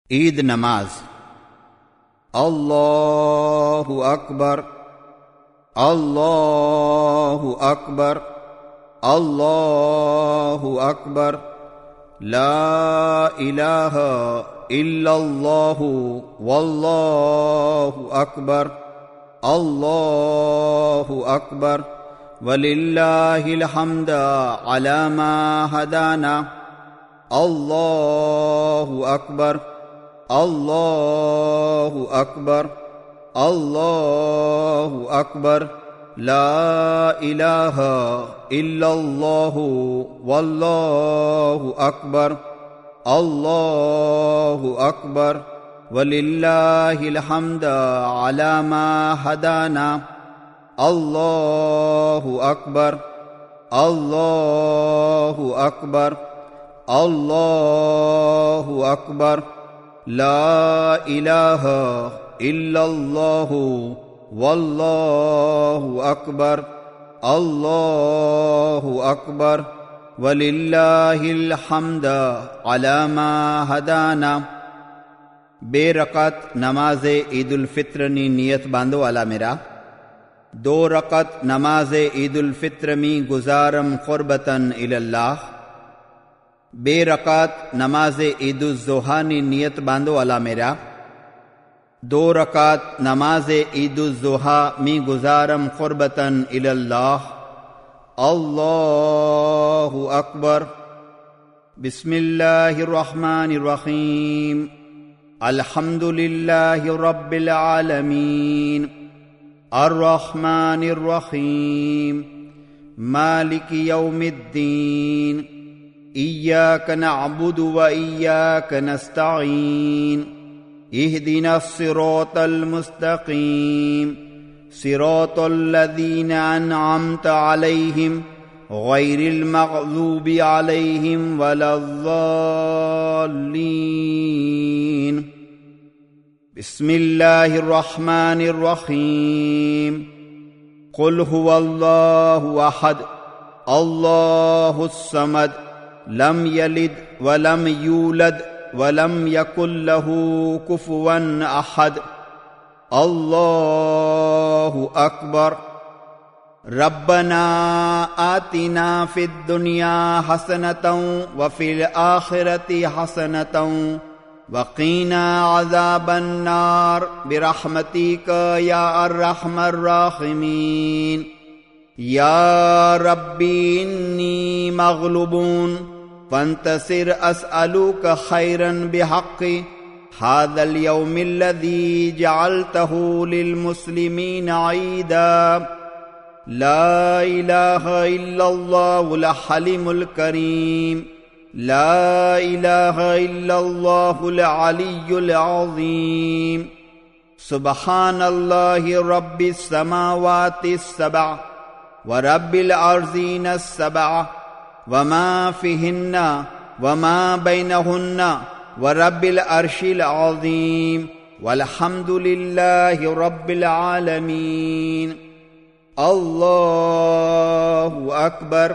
ईद नमाज। अल्लाहु अकबर, अल्लाहु अकबर, अल्लाहु अकबर, ला इलाहा इल्लल्लाहु वल्लाहु अकबर, अल्लाहु अकबर, वलिल्लाहिल हम्द अला मा हदाना, अल्लाहु अकबर, अल्लाहु अकबर, अल्लाहु अकबर, ला इलाहा इल्लल्लाहु वल्लाहु अकबर, अल्लाहु अकबर, वलिल्लाहिल हम्द अला मा हदाना, अल्लाहु अकबर, अल्लाहु अकबर, अल्लाहु अकबर, ला इलाहा इल्लल्लाहु वल्लाहु अकबर, अल्लाहु अकबर, वलिल्लाहिल हम्द अला मा हदाना। बेरकत नमाज़े ईदुल फित्र नी नियत बांधो अला मेरा। 2 रकत नमाज़े ईदुल फित्र मी गुजारम क़ुर्बतन इलल्लाह। बेरकत नमाज़े ईदुल ज़ुहा नी नियत बांधो अला मेरा। 2 रकात नमाज़े ईदुल ज़ुहा मी गुजारम क़ुर्बतन इलल्लाह। अल्लाहु अकबर। बिस्मिल्लाहिर रहमानिर रहीम। अल्हम्दुलिल्लाहि रब्बिल आलमीन, अर्रहमानिर रहीम, मालिकि यौमिद्दीन, इय्याक नअबुदु व इय्याक नस्तईन, इहदिनस सिरातल मुस्तकीम, सिरातल लज़ीना अनअमता अलैहिम गैरिल मग़ज़ूबि अलैहिम वलज़्ज़ाल्लीन। बिस्मिल्लाहिर रहमानिर रहीम। क़ुल हुवल्लाहु अहद, अल्लाहुस समद, लम यलिद वलम यूलद वलम यकुल लहू कुफुवन अहद। अल्लाहु अकबर। रब्बना आतिना फिद दुनिया हसनतन व फिल आखिरति हसनतन वक़ीना अज़ाबन नार बिरहमतिका या अर्रहमर राहिमीन। या रब्बी इन्नी मग़लूबून फंतसिर अस्अलुका खैरन बिहक़्क़ि हाज़ल यौमिल्लज़ी जअलतहु लिलमुस्लिमीन ईदा। ला इलाहा इल्लल्लाहुल हलीमुल करीम, ला इलाहा इल्लल्लाहुल अलियुल अज़ीम। सुब्हानल्लाहि रब्बिस समावातिस सबअ व रब्बिल अर्ज़ीनस सबअ वमा फ़ीहिन्ना वमा बैनहुन्ना व रब्बिल अर्शिल अज़ीम वल्हम्दुलिल्लाहि रब्बिल आलमीन। अल्लाहु अकबर।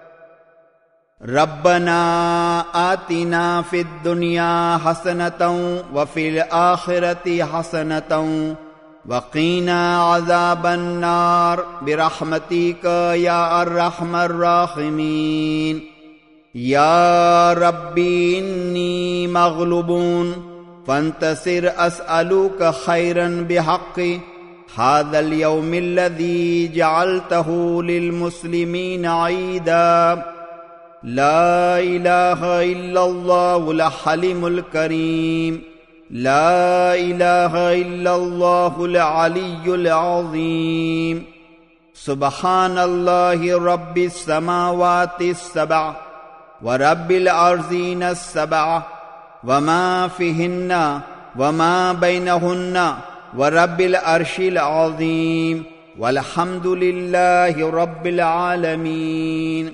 रब्बना आतिना फिद दुनिया हसनतन व फिल आखिरति हसनतन वक़ीना अज़ाबन नार बिरहमतिका या अर्रहमर राहिमीन। या रब्बी इन्नी मग़लूबून फंतसिर अस्अलुका खैरन बिहक़्क़ि हाज़ल यौमिल्लज़ी जअलतहु लिलमुस्लिमीन ईदा। ला इलाहा इल्लल्लाहुल हलीमुल करीम, ला इलाहा इल्लल्लाहुल अलियुल अज़ीम। सुब्हानल्लाहि रब्बिस समावातिस सबअ व रब्बिल अर्ज़ीनस सबअ वमा फ़ीहिन्ना वमा बैनहुन्ना व रब्बिल अर्शिल अज़ीम वल्हम्दुलिल्लाहि रब्बिल आलमीन।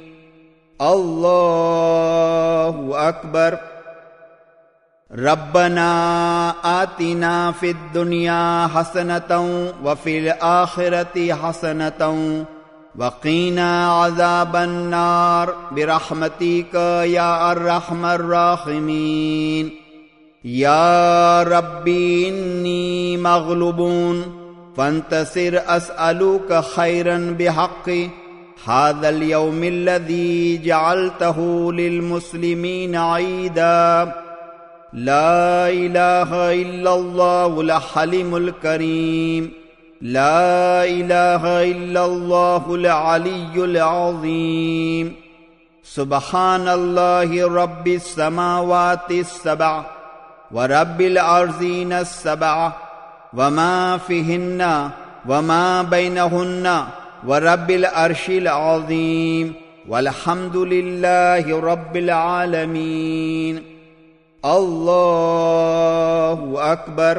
अल्लाहु अकबर। रब्बना आतिना फिद दुनिया हसनतन व फिल आखिरति हसनतन वक़ीना अज़ाबन नार बिरहमतिका या अर्रहमर राहिमीन। या रब्बी इन्नी मग़लूबून फंतसिर अस्अलुका खैरन बिहक़्क़ि हाज़ल यौमिल्लज़ी जअलतहु लिलमुस्लिमीना ईदा ला इलाहा इल्लल्लाहुल हलीमुल करीम ला इलाहा इल्लल्लाहुल अलियुल अज़ीम सुब्हानल्लाहि रब्बिस समावातिस सबअ व रब्बिल अर्ज़ीनस सबअ वमा फ़ीहिन्ना वमा बैनहुन्ना व रब्बिल अर्शिल अज़ीम वल्हम्दुलिल्लाहि रब्बिल आलमीन। अल्लाहु अकबर।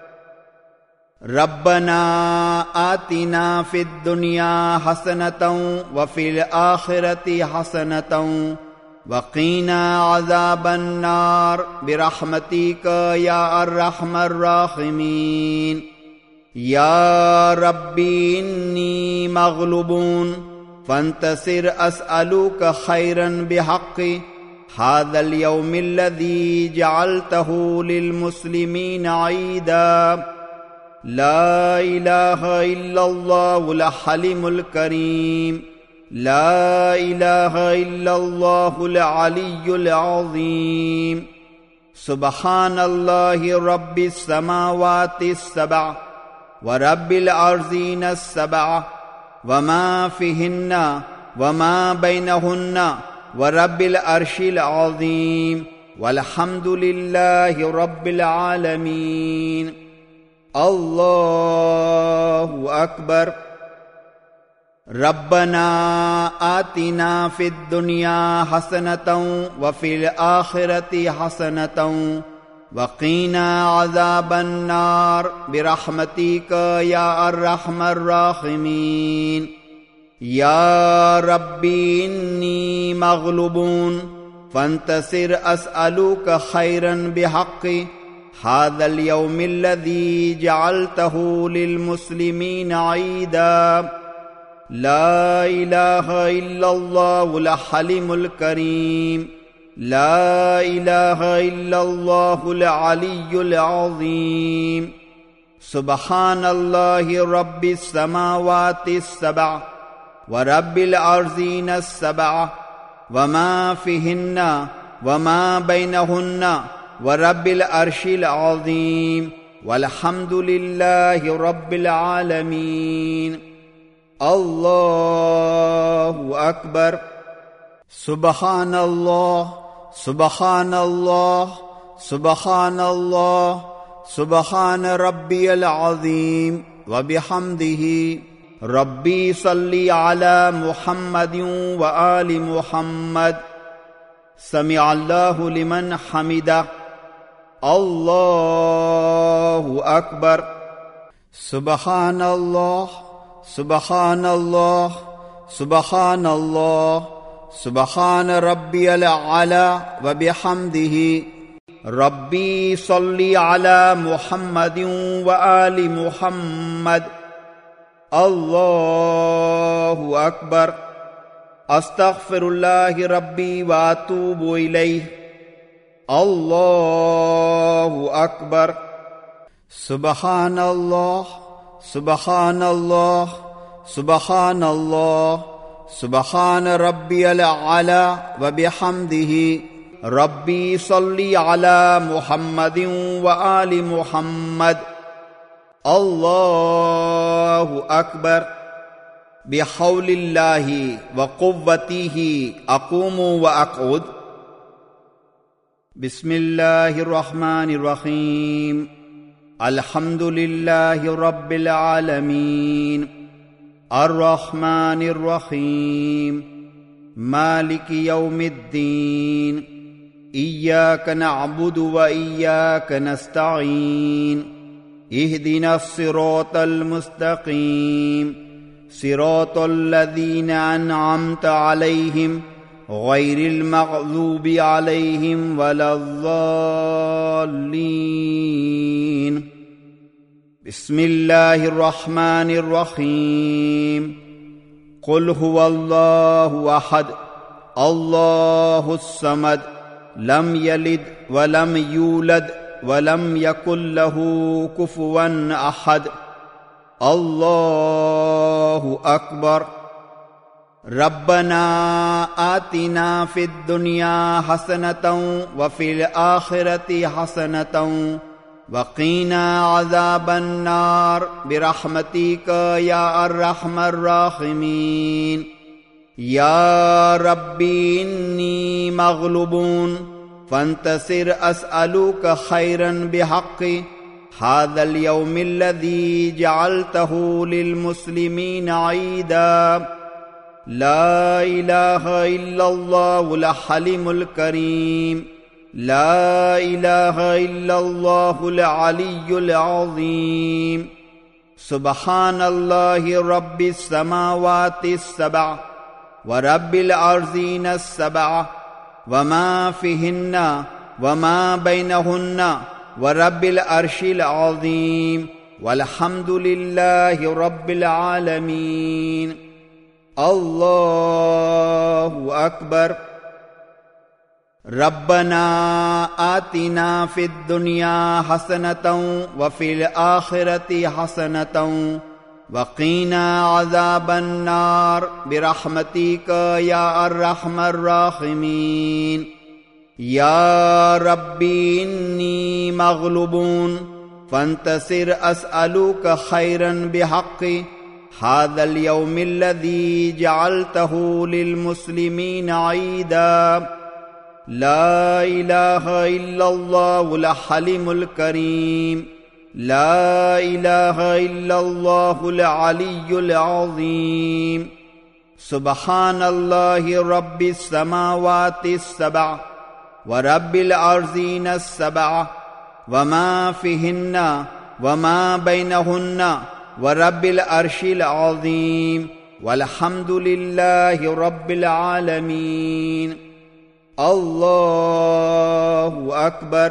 रब्बना आतिना फिद दुनिया हसनतन व फिल आखिरति हसनतन वक़ीना अज़ाबन नार बिरहमतिका या अर्रहमर राहिमीन। या रब्बी इन्नी मग़लूबून फंतसिर अस्अलुका खैरन बिहक़्क़ि हाज़ल यौमिल्लज़ी जअलतहु लिलमुस्लिमीना ईदा ला इलाहा इल्लल्लाहुल हलीमुल करीम ला इलाहा इल्लल्लाहुल अलियुल अज़ीम सुब्हानल्लाहि रब्बिस समावातिस सबअ व रब्बिल अर्ज़ीनस सबअ वमा फ़ीहिन्ना वमा बैनहुन्ना व रब्बिल अर्शिल अज़ीम वल्हम्दुलिल्लाहि रब्बिल आलमीन। अल्लाहु अकबर। रब्बना आतिना फिद दुनिया हसनतन व फिल आखिरति हसनतन वक़ीना अज़ाबन नार बिरहमतिका या अर्रहमर राहिमीन। या रब्बी इन्नी मग़लूबून फंतसिर अस्अलुका खैरन बिहक़्क़ि हाज़ल यौमिल्लज़ी जअलतहु लिलमुस्लिमीना ईदा ला इलाहा इल्लल्लाहुल हलीमुल करीम ला इलाहा इल्लल्लाहुल अलियुल अज़ीम सुब्हानल्लाहि रब्बिस समावातिस सबअ व रब्बिल अर्ज़ीनस सबअ वमा फ़ीहिन्ना वमा बैनहुन्ना व रब्बिल अर्शिल अज़ीम वल्हम्दुलिल्लाहि रब्बिल आलमीन। अल्लाहु अकबर। सुब्हानल्लाह सुब्हानल्लाह सुब्हानल्लाह सुब्हान रब्बियल अज़ीम व बिहम्दिही रब्बी सल्ली अला मुहम्मदिन व आलि मुहम्मद समिअल्लाहु लिमन हमिदा। अल्लाहु अकबर। सुब्हानल्लाह सुब्हानल्लाह सुब्हानल्लाह सुब्हान रब्बियल आला व बिहम्दिही रब्बी सल्ली अला मुहम्मदिन व आलि मुहम्मद। अल्लाहु अकबर। अस्तग़फिरुल्लाहि रब्बी व अतूबु इलैह। अल्लाहु अकबर। सुब्हानल्लाह सुब्हानल्लाह सुब्हानल्लाह सुब्हान रब्बियल आला व बिहम्दिही रब्बी सल्ली अला मुहम्मदिन व आलि मुहम्मद। अल्लाहु अकबर। बिहौलिल्लाहि व कुव्वतिही अक़ूमु व अक़ऊद। बिस्मिल्लाहिर रहमानिर रहीम। अल्हम्दुलिल्लाहि रब्बिल आलमीन अर्रहमानिर रहीम मालिकि यौमिद्दीन इय्याक नअबुदु व इय्याक नस्तईन इहदिनस सिरातल मुस्तकीम सिरातल लज़ीना अनअमता अलैहिम गैरिल मग़ज़ूबि अलैहिम वलज़्ज़ाल्लीन। बिस्मिल्लाहिर रहमानिर रहीम। क़ुल हुवल्लाहु अहद अल्लाहुस समद लम यलिद व लम यूलद वलम यकुल लहू कुफुवन अहद। अल्लाहु अकबर। रब्बना आतिना फिद दुनिया हसनतौ व फिल आखिरति हसनतौ वक़ीना अज़ाबन नार बिरहमतिका या अर्रहमर राहिमीन। या रब्बी इन्नी मग़लूबून फंतसिर अस्अलुका खैरन बिहक़्क़ि हाज़ल यौमिल्लज़ी जअलतहु लिलमुस्लिमीन ईदा। ला इलाहा इल्लल्लाहुल हलीमुल करीम। ला इलाहा इल्लल्लाहुल अलियुल अज़ीम। सुब्हानल्लाहि रब्बिस समावातिस सबअ व रब्बिल अर्ज़ीनस सबअ वमा फ़ीहिन्ना वमा बैनहुन्ना व रब्बिल अर्शिल अज़ीम वल्हम्दुलिल्लाहि रब्बिल आलमीन। अल्लाहु अकबर। रब्बना आतिना फिद दुनिया हसनतौ व फिल आखिरति हसनतौ वक़ीना अज़ाबन नार बिरहमतिका या अर्रहमर राहिमीन। या रब्बी इन्नी मग़लूबून फंतसिर अस्अलुका खैरन बिहक़्क़ि हाज़ल यौमिल्लज़ी जअलतहु लिलमुस्लिमीन ईदा। ला इलाहा इल्लल्लाहुल हलीमुल करीम। ला इलाहा इल्लल्लाहुल अलियुल अज़ीम। सुब्हानल्लाहि रब्बिस समावातिस सबअ व रब्बिल अर्ज़ीनस सबअ वमा फ़ीहिन्ना वमा बैनहुन्ना व रब्बिल अर्शिल अज़ीम वल्हम्दुलिल्लाहि रब्बिल आलमीन। अल्लाहु अकबर।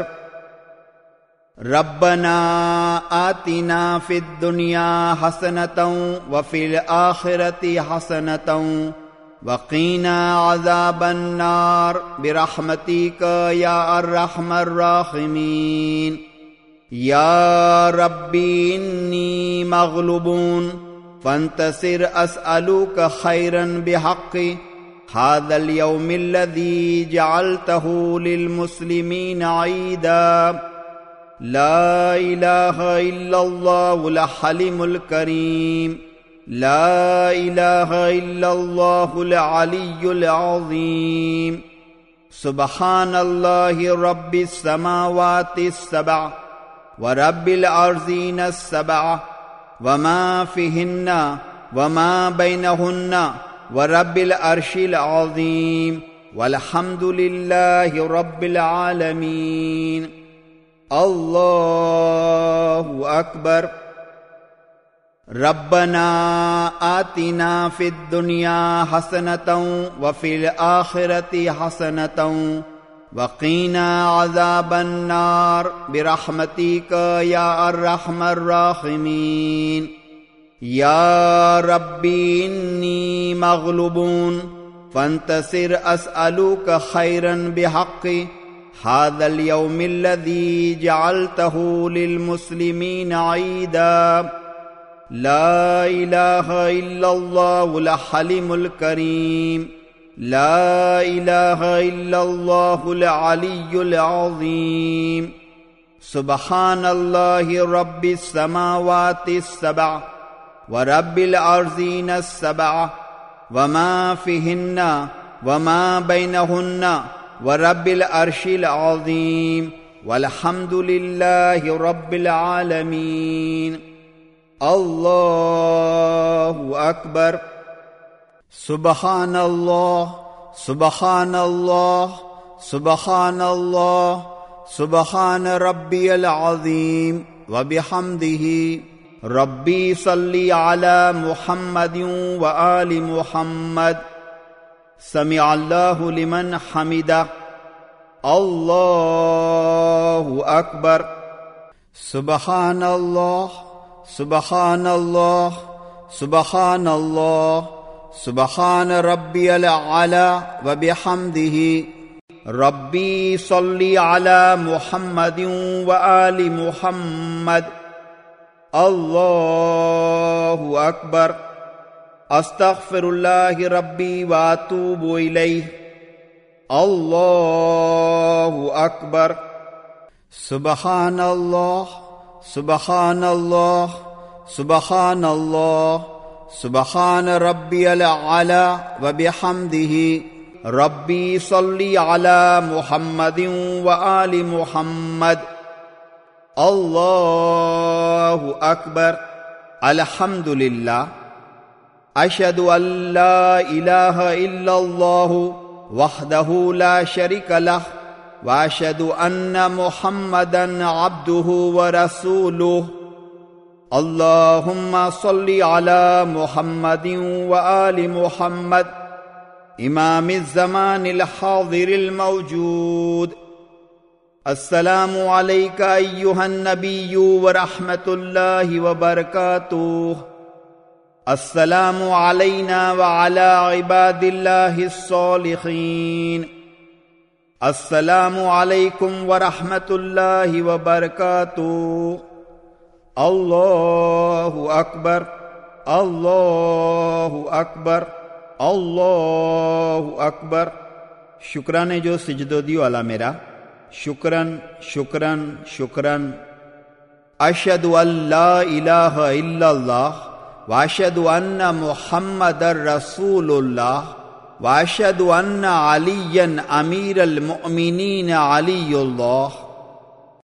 रब्बना आतिना फिद दुनिया हसनतौ व फिल आखिरति हसनतौ वक़ीना अज़ाबन नार बिरहमतिका या अर्रहमर राहिमीन। या रब्बी इन्नी मग़लूबून फंतसिर अस्अलुका खैरन बिहक़्क़ि हाज़ल यौमिल्लज़ी जअलतहु लिलमुस्लिमीन ईदा। ला इलाहा इल्लल्लाहुल हलीमुल करीम। ला इलाहा इल्लल्लाहुल अलियुल अज़ीम। सुब्हानल्लाहि रब्बिस समावातिस सबअ व रब्बिल अर्ज़ीनस सबअ वमा फ़ीहिन्ना वमा बैनहुन्ना व रब्बिल अर्शिल अज़ीम वल्हम्दुलिल्लाहि रब्बिल आलमीन। अल्लाहु अकबर। रब्बना आतिना फिद दुनिया हसनतौ व फिल आखिरति हसनतौ वक़ीना अज़ाबन नार बिरहमतिका या अर्रहमर राहिमीन। या रब्बी इन्नी मग़लूबून फंतसिर अस्अलुका खैरन बिहक़्क़ि हाज़ल यौमिल्लज़ी जअलतहु लिलमुस्लिमीन ईदा। ला इलाहा इल्लल्लाहुल हलीमुल करीम। ला इलाहा इल्लल्लाहुल अलियुल अज़ीम। सुब्हानल्लाहि रब्बिस समावातिस सबअ व रब्बिल अर्ज़ीनस सबअ वमा फ़ीहिन्ना वमा बैनहुन्ना व रब्बिल अर्शिल अज़ीम वल्हम्दुलिल्लाहि रब्बिल आलमीन। अल्लाहु अकबर। सुब्हानल्लाह सुब्हानल्लाह सुब्हानल्लाह सुब्हान रब्बियल अज़ीम व बिहम्दिही। रब्बी सल्ली अला मुहम्मदिन व आलि मुहम्मद। समिअल्लाहु लिमन हमिदा। अल्लाहु अकबर। सुब्हानल्लाह सुब्हानल्लाह सुब्हानल्लाह सुब्हान रब्बियल आला व बिहम्दिही। रब्बी सल्ली अला मुहम्मदिन व आलि मुहम्मद। अल्लाहु अकबर। अस्तगफिरुल्लाह रब्बी व अतूबु इलैह। अल्लाहु अकबर। सुबहानल्लाह सुबहानल्लाह सुबहानल्लाह सुबहान रब्बियल आला व बिहम्दिही। रब्बी सल्ली अला मुहम्मदिन व आलि मुहम्मद। अल्लाहु अकबर। अल्हम्दुलिल्लाह। अशहदु अल्ला इलाहा इल्लल्लाहु वहदहु ला शरीका लह व अशहदु अन्ना मुहम्मदन अब्दुहु व रसूलुहु। अल्लाहुम्मा सल्ली अला मुहम्मदिन व आलि मुहम्मद इमामिज़ ज़मानिल हाज़िरिल मौजूद। अस्सलामु अलैका अय्युहन नबिय्यु व रहमतुल्लाहि व बरकातुहु। अस्सलामु अलैना व अला इबादिल्लाहिस सालिहीन। अस्सलामु अलैकुम व रहमतुल्लाहि व बरकातुहु। अल्लाहु अकबर। अल्लाहु अकबर। अल्लाहु अकबर। शुक्राने जो सिजदो दियो अला मेरा। शुक्रन शुक्रन शुक्रन। अशहदु अल्ला इलाहा इल्लल्लाह व अशहदु अन्ना मुहम्मदर रसूलुल्लाह व अशहदु अन्ना अलियन अमीरुल मुमिनीन अलीयुल्लाह।